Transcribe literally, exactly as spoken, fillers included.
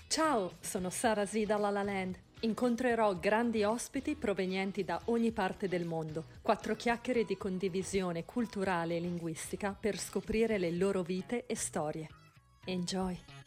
Ciao, sono Sara Z da La La Land. Incontrerò grandi ospiti provenienti da ogni parte del mondo. Quattro chiacchiere di condivisione culturale e linguistica per scoprire le loro vite e storie. Enjoy!